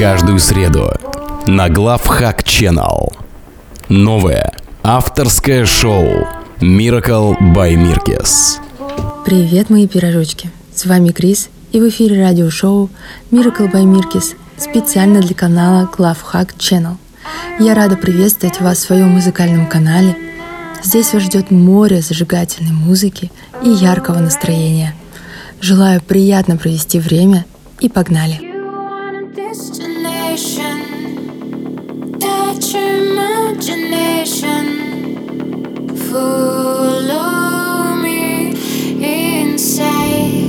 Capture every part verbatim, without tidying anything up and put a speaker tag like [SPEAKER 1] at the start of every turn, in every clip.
[SPEAKER 1] каждую среду на Главхак Channel. Новое авторское шоу Miracle by Mirkis.
[SPEAKER 2] Привет, мои пирожочки! С вами Крис, и в эфире радиошоу Miracle by Mirkis специально для канала Главхак Channel. Я рада приветствовать вас в своем музыкальном канале. Здесь вас ждет море зажигательной музыки и яркого настроения. Желаю приятно провести время и погнали!
[SPEAKER 3] Follow me inside.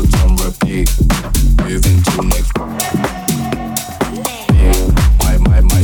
[SPEAKER 4] My, my, my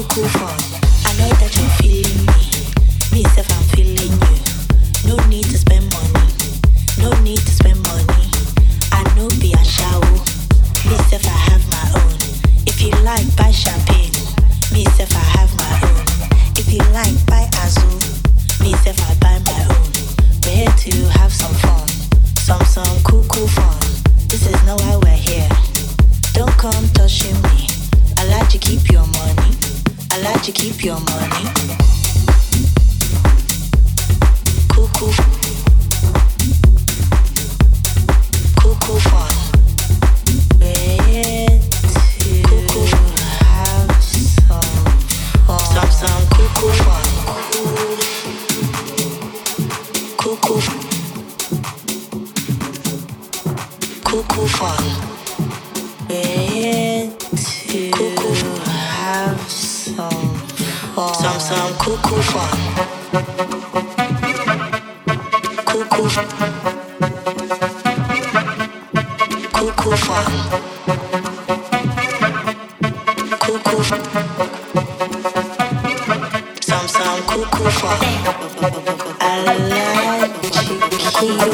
[SPEAKER 4] cool fun. I know that you're feeling me. Me self, I'm feeling you. No need to spend money. No need to spend money. I know be a shower. Me self, I have my own. If you like, buy champagne. Me self, I have my own. If you like, buy Azul. Me self, I buy my own. We're here to have some fun. Some, some cool, cool fun. This is not why we're here. Don't come touching me. I like to keep your money. I like to keep your money. Cool, cool. Cool, cool fun. We're to cool, cool. Have some fun. Some, some cool, cool fun. Cool, cool. Cool, cool fun. We're to cool, cool. Have some fun. Some, some cool, cool fun. Cool, cool. Cool, cool fun. Cool, cool. Some, some cool, cool fun. I like to keep you.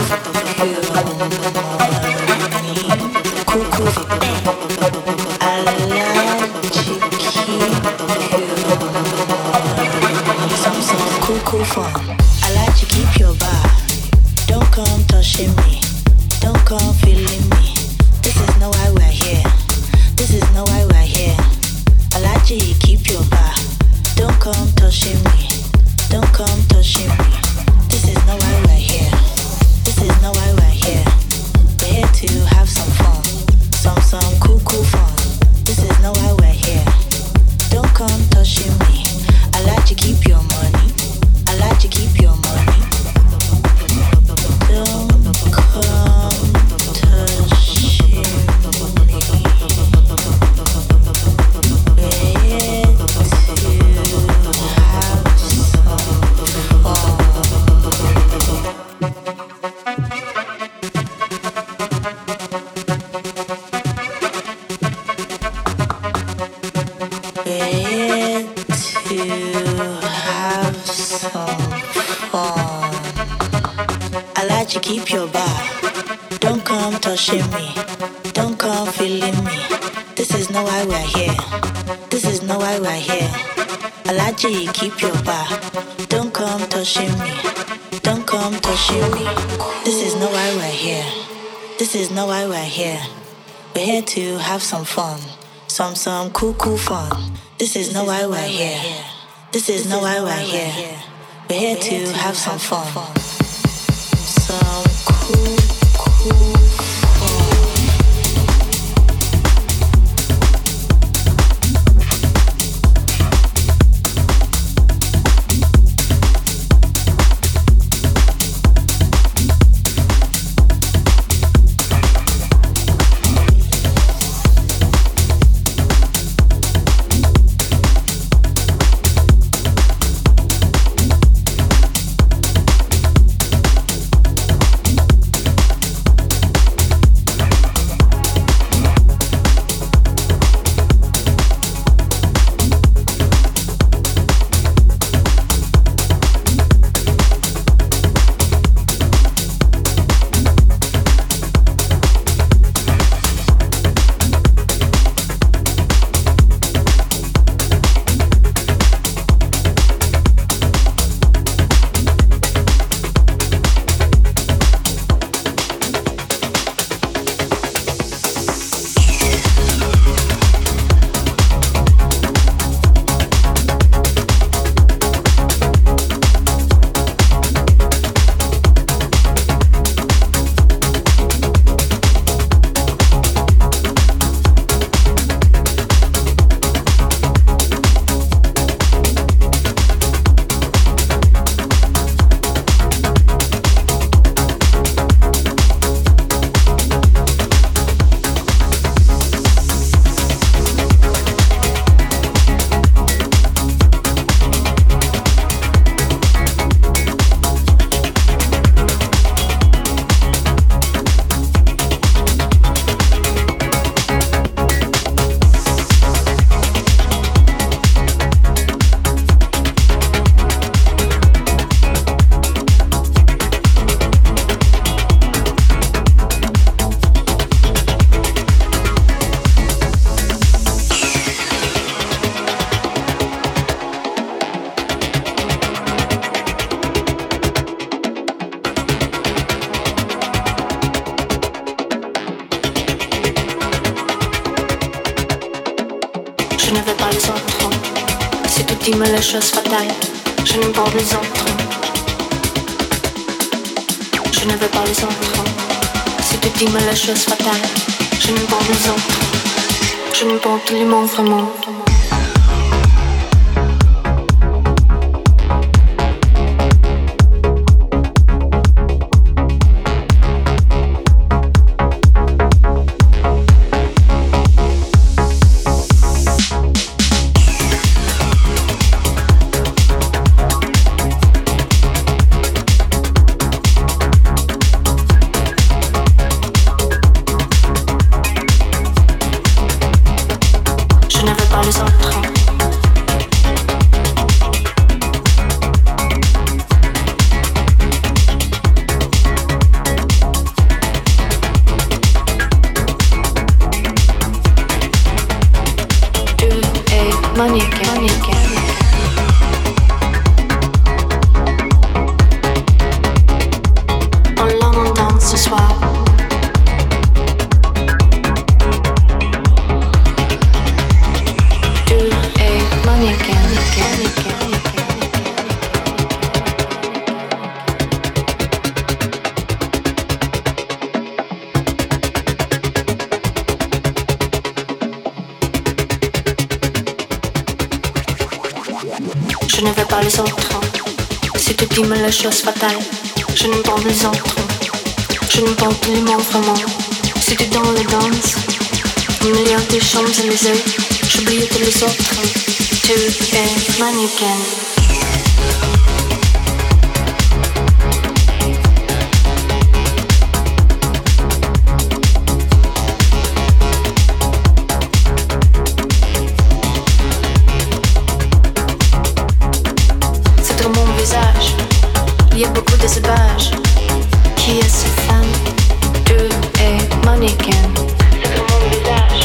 [SPEAKER 4] Cool, cool. I like to keep you. Some, some cool, cool fun. I like to keep your bar. Don't come touching me. Don't come feeling me. This is not why we're here. This is not why we're here. I like to keep your bar. Don't come touching me. Don't come touching me. This is not why we're here. This is not why we're here. We're here to have some fun. Some, some cool, cool fun. This is not why we're here. Don't come touching me. I like to keep your money. I like to keep your money. Don't come touching me. To keep your bar. Don't come touching me. Don't come feeling me. This is not why we're here. This is not why we're here. I like to keep your bar. Don't come touching me. Don't come touching me. This is not why we're here. This is not why we're here. We're here to have some fun. Some, some cool, cool fun. This is not why we're here. This is not why we're here. We're here to have some fun. Some cool, cool
[SPEAKER 3] pas les autres. Si tu dis-moi les choses fatales, je n'aime pas les autres. Je ne veux pas les autres. Si tu dis-moi les choses fatales, je n'aime pas les autres. Je n'aime pas tous les mots vraiment. Je ne veux pas les autres. Si tu dis-moi les choses fatales, je n'aime pas les autres. Je n'aime pas tous les mots vraiment. Si tu dans les danses, au milieu des Champs-Élysées, j'oublie tous les autres. Tu es mannequin. Il y a beaucoup de sauvages. Qui est ce femme? Tu es mannequin. C'est sur mon visage.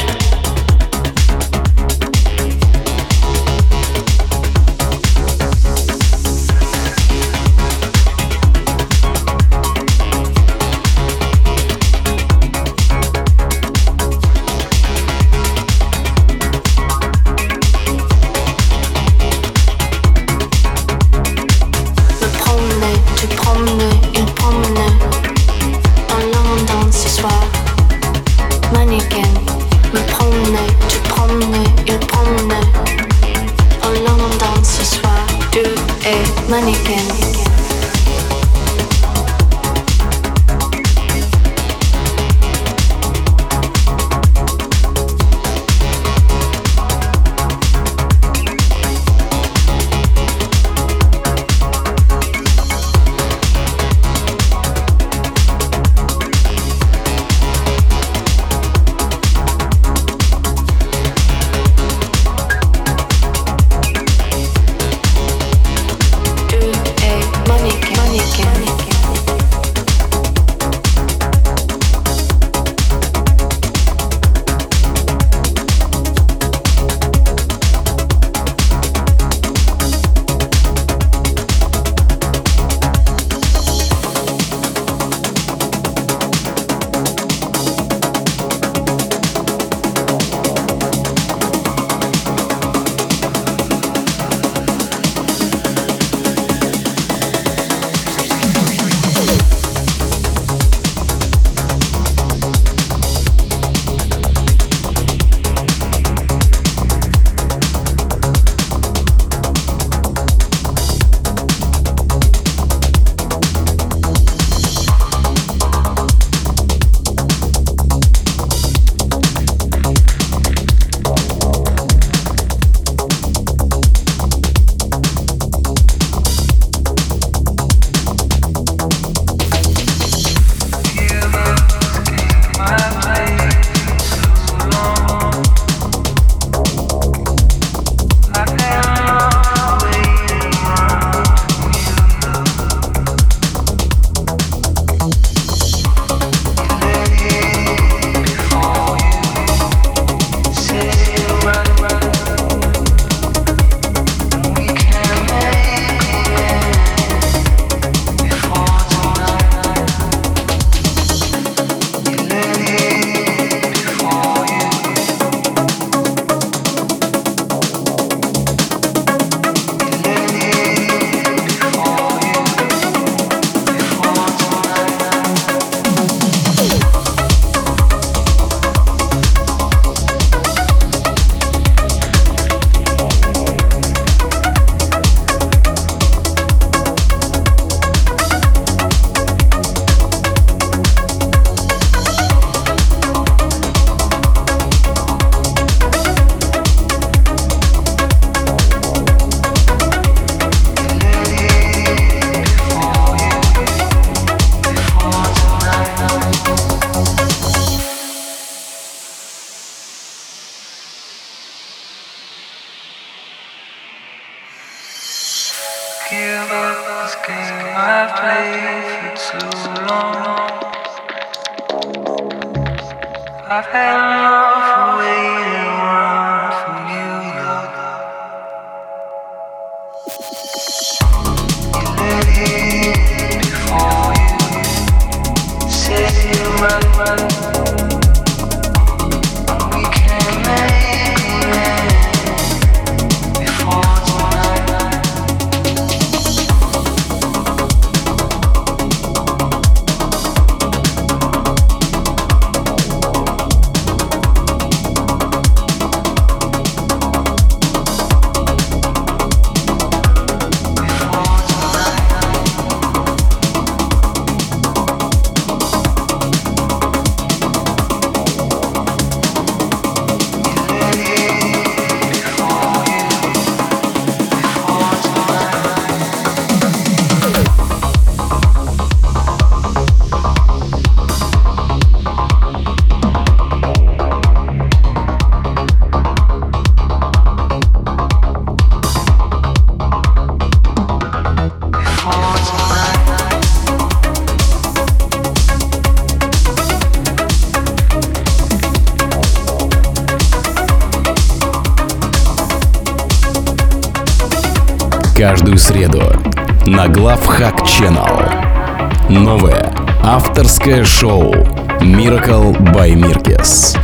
[SPEAKER 1] Каждую среду на Главхак Channel новое авторское шоу Miracle by Mirkes.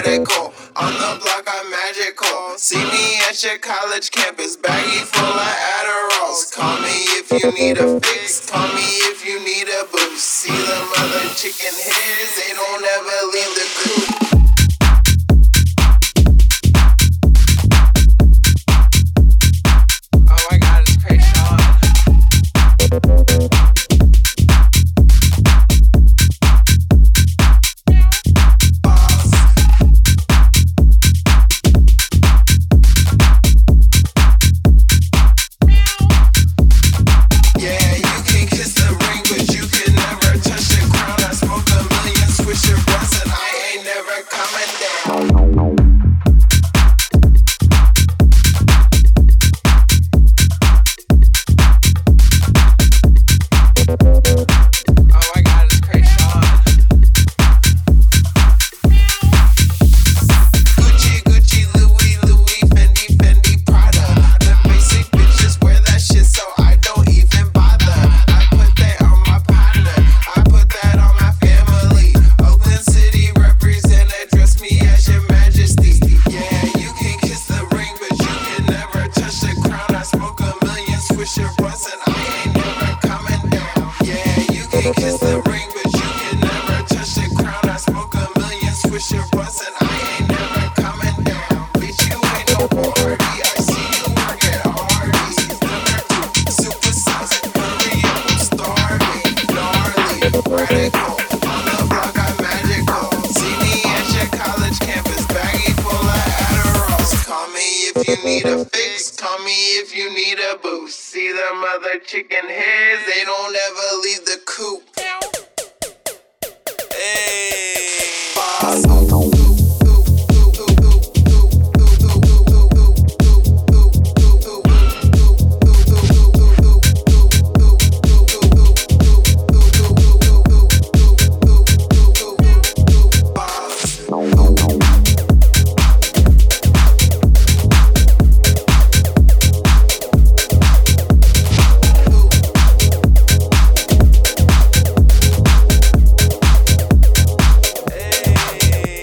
[SPEAKER 5] radical. On the block, I'm magical. See me at your college campus, baggy full of Adderalls. Call me if you need a fix, call me if you need a boost. See them other chicken heads, they don't ever leave the coop. Chicken heads, they don't ever leave the coop. Hey, boss. Hey.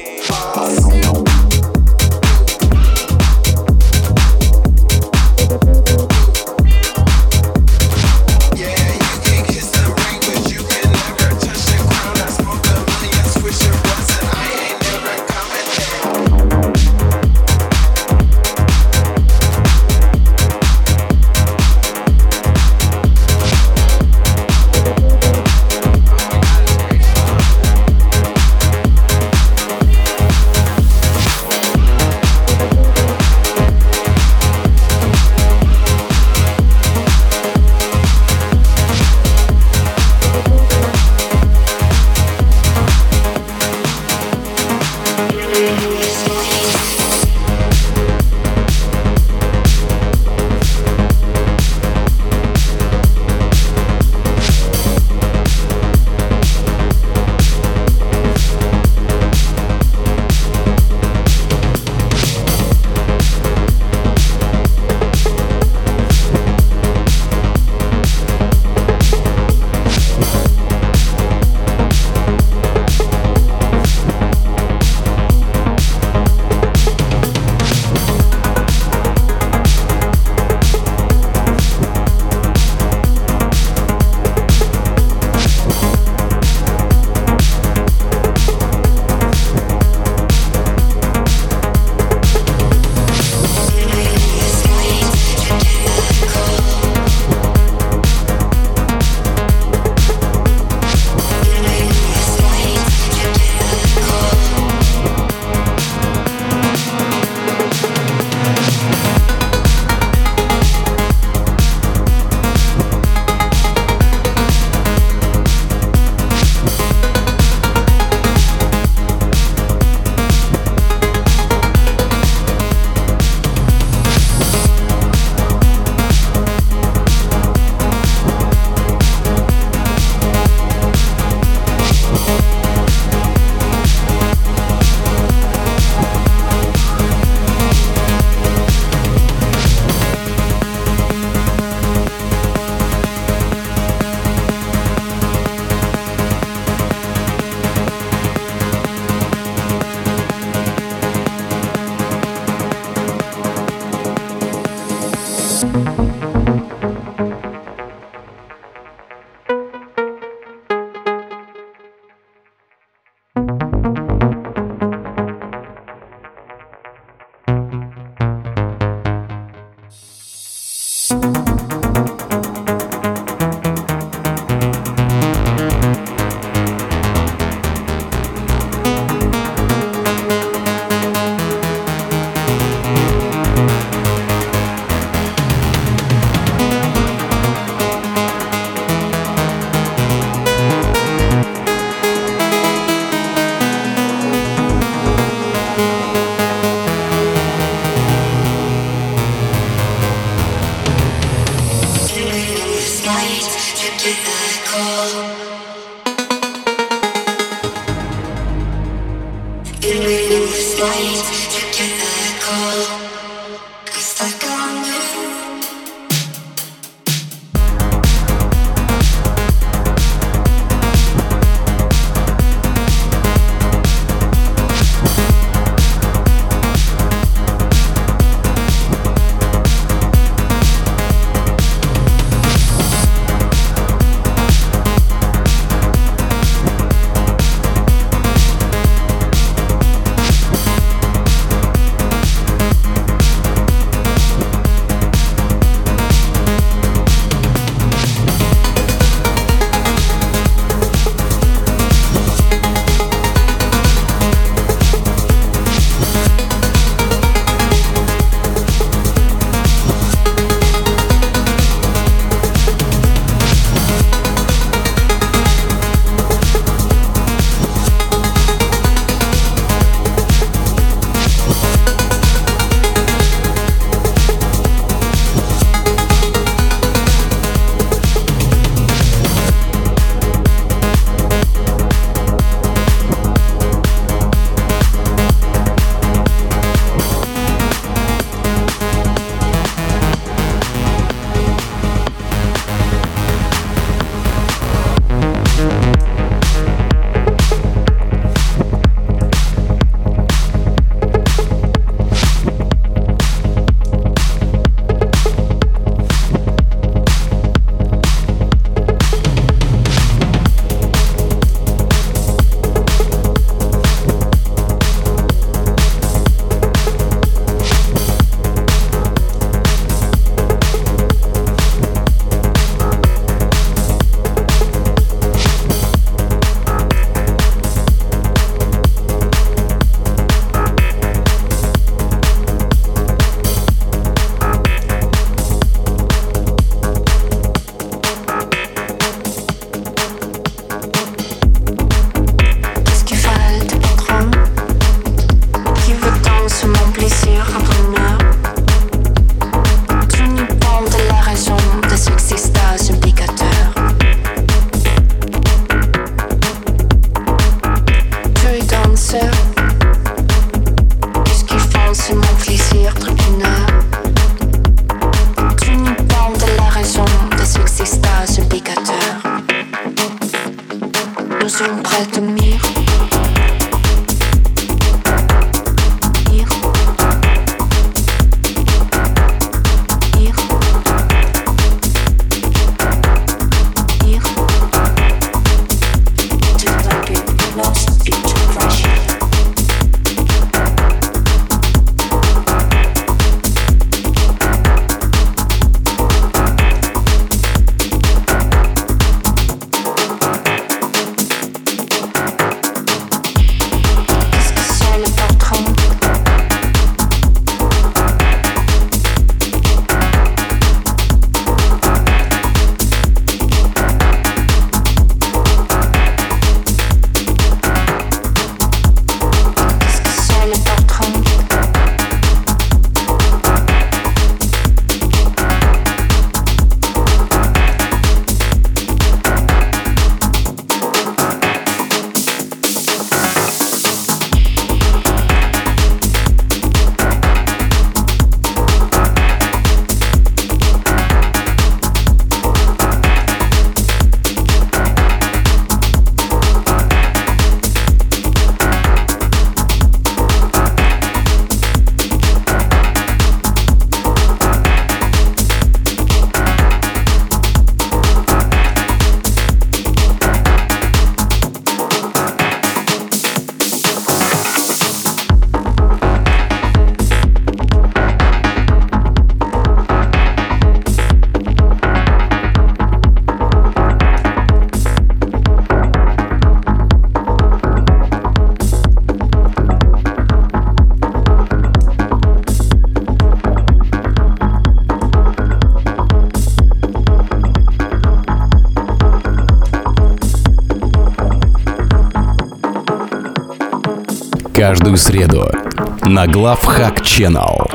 [SPEAKER 1] Каждую среду на Главхак Channel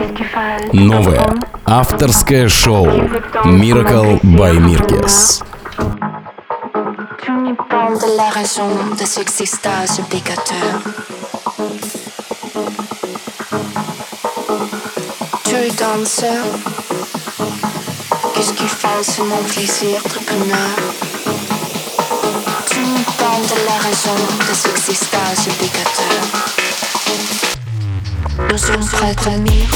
[SPEAKER 1] новое авторское шоу Miracle by Mirkes.
[SPEAKER 3] Tu n'y penses de la raison de ce existage obligateur. Tu es danseur. Qu'est-ce qui fait, c'est mon plaisir de bonheur. Tu me donnes de la raison des existences obligatoires. Nous sommes prêts à dormir.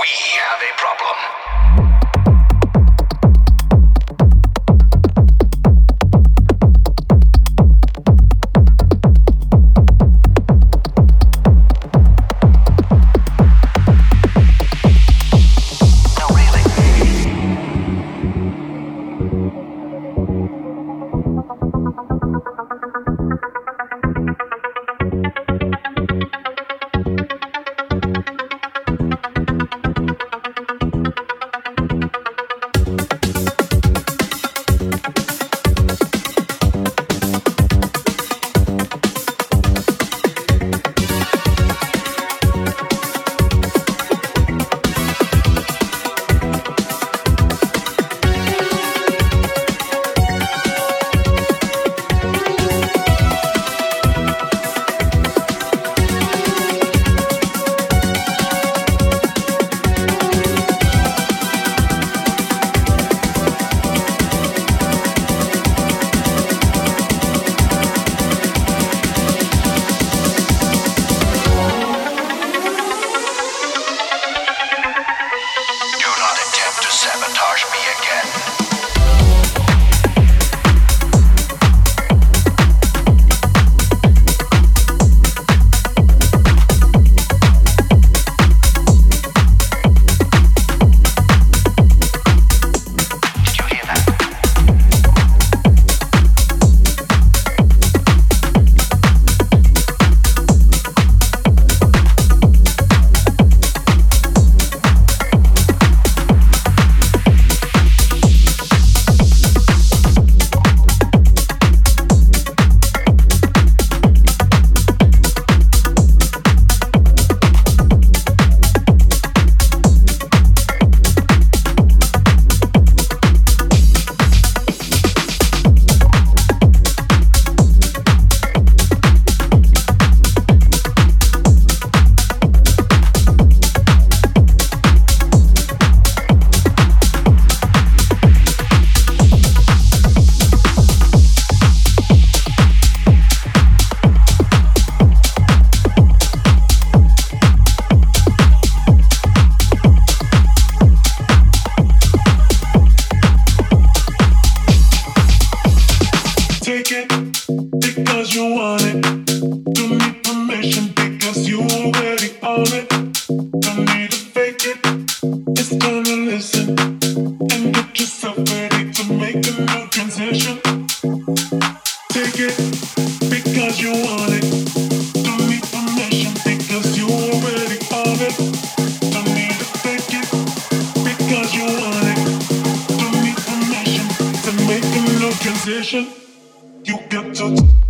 [SPEAKER 6] have a problem.
[SPEAKER 5] You got to